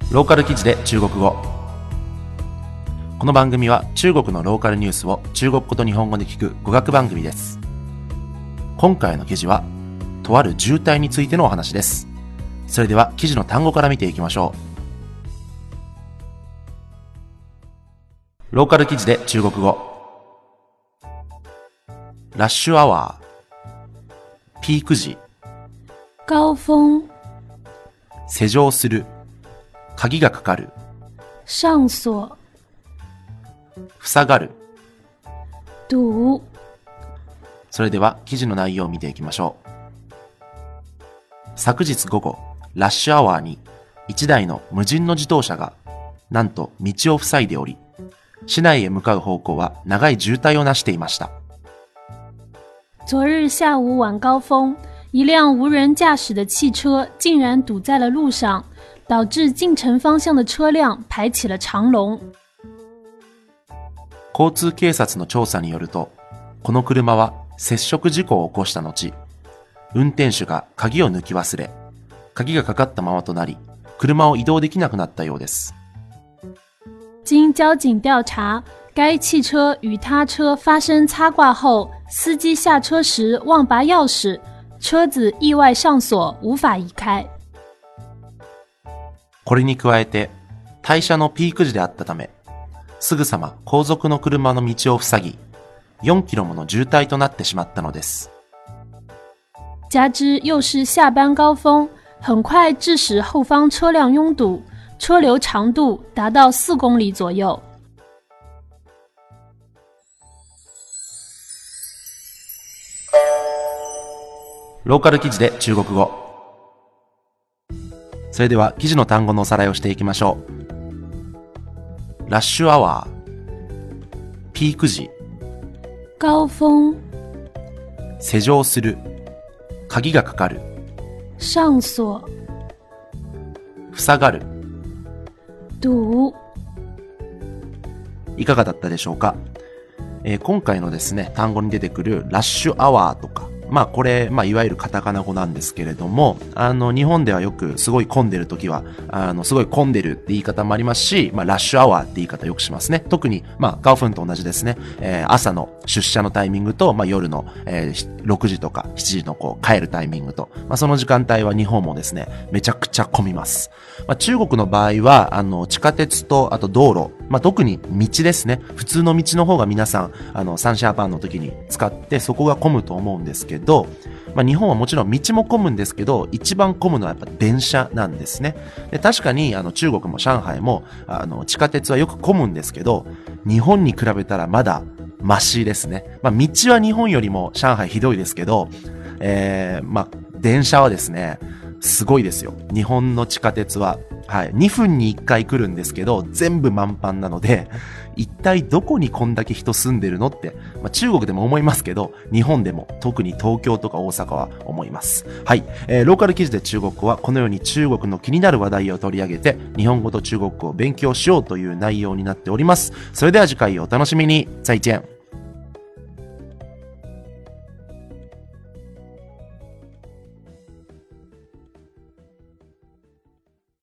ローカル記事で中国語。この番組は中国のローカルニュースを中国語と日本語で聞く語学番組です。今回の記事はとある渋滞についてのお話です。それでは記事の単語から見ていきましょう。ローカル記事で中国語。ラッシュアワー、ピーク時、 高峰、 施錠する、鍵がかかる、 上鎖、 塞がる。 堵。 それでは記事の内容を見ていきましょう。昨日午後、ラッシュアワーに1台の無人の自動車がなんと道を塞いでおり、市内へ向かう方向は長い渋滞をなしていました。 昨日下午晚高峰，一辆无人驾驶的汽车竟然堵在了路上，导致进城方向的車輛排起了長龍。 交通警察の調査によると、この車は接触事故を起こした後、運転手が鍵を抜き忘れ、鍵がかかったままとなり、車を移動できなくなったようです。 经交警調查，该汽車與他車發生擦掛後，司機下車時忘拔鑰匙，車子意外上鎖，無法移開。 これに加えて、退社のピーク時であったため、すぐさま後続の車の道を塞ぎ、4キロもの渋滞となってしまったのです。 加之又是下班高峰，很快致使後方車輛擁堵，車流長度達到4公里左右。 ローカル記事で中国語。それでは記事の単語のおさらいをしていきましょう。ラッシュアワー、ピーク時、 高峰、 施錠する、鍵がかかる、 上鎖、 塞がる。 堵。 いかがだったでしょうか。今回のですね、単語に出てくるラッシュアワーとか、これ、いわゆるカタカナ語なんですけれども、日本ではよくすごい混んでる時は、すごい混んでるって言い方もありますし、ラッシュアワーって言い方よくしますね。特に、ガオフンと同じですね。朝の出社のタイミングと、夜の、6時とか7時の帰るタイミングと、その時間帯は日本もですね、めちゃくちゃ混みます。中国の場合は、地下鉄と、あと道路、特に道ですね。普通の道の方が皆さん、サンシャーバンの時に使って、そこが混むと思うんですけど、日本はもちろん道も混むんですけど、一番混むのはやっぱ電車なんですね。で、確かに中国も上海も地下鉄はよく混むんですけど、日本に比べたらまだマシですね。道は日本よりも上海ひどいですけど、電車はですね、すごいですよ。日本の地下鉄は、2分に1回来るんですけど、全部満帆なので、一体どこにこんだけ人住んでるのって、中国でも思いますけど、日本でも特に東京とか大阪は思います。はい。ローカル記事で中国語はこのように中国の気になる話題を取り上げて、日本語と中国語を勉強しようという内容になっております。それでは次回をお楽しみに。再见。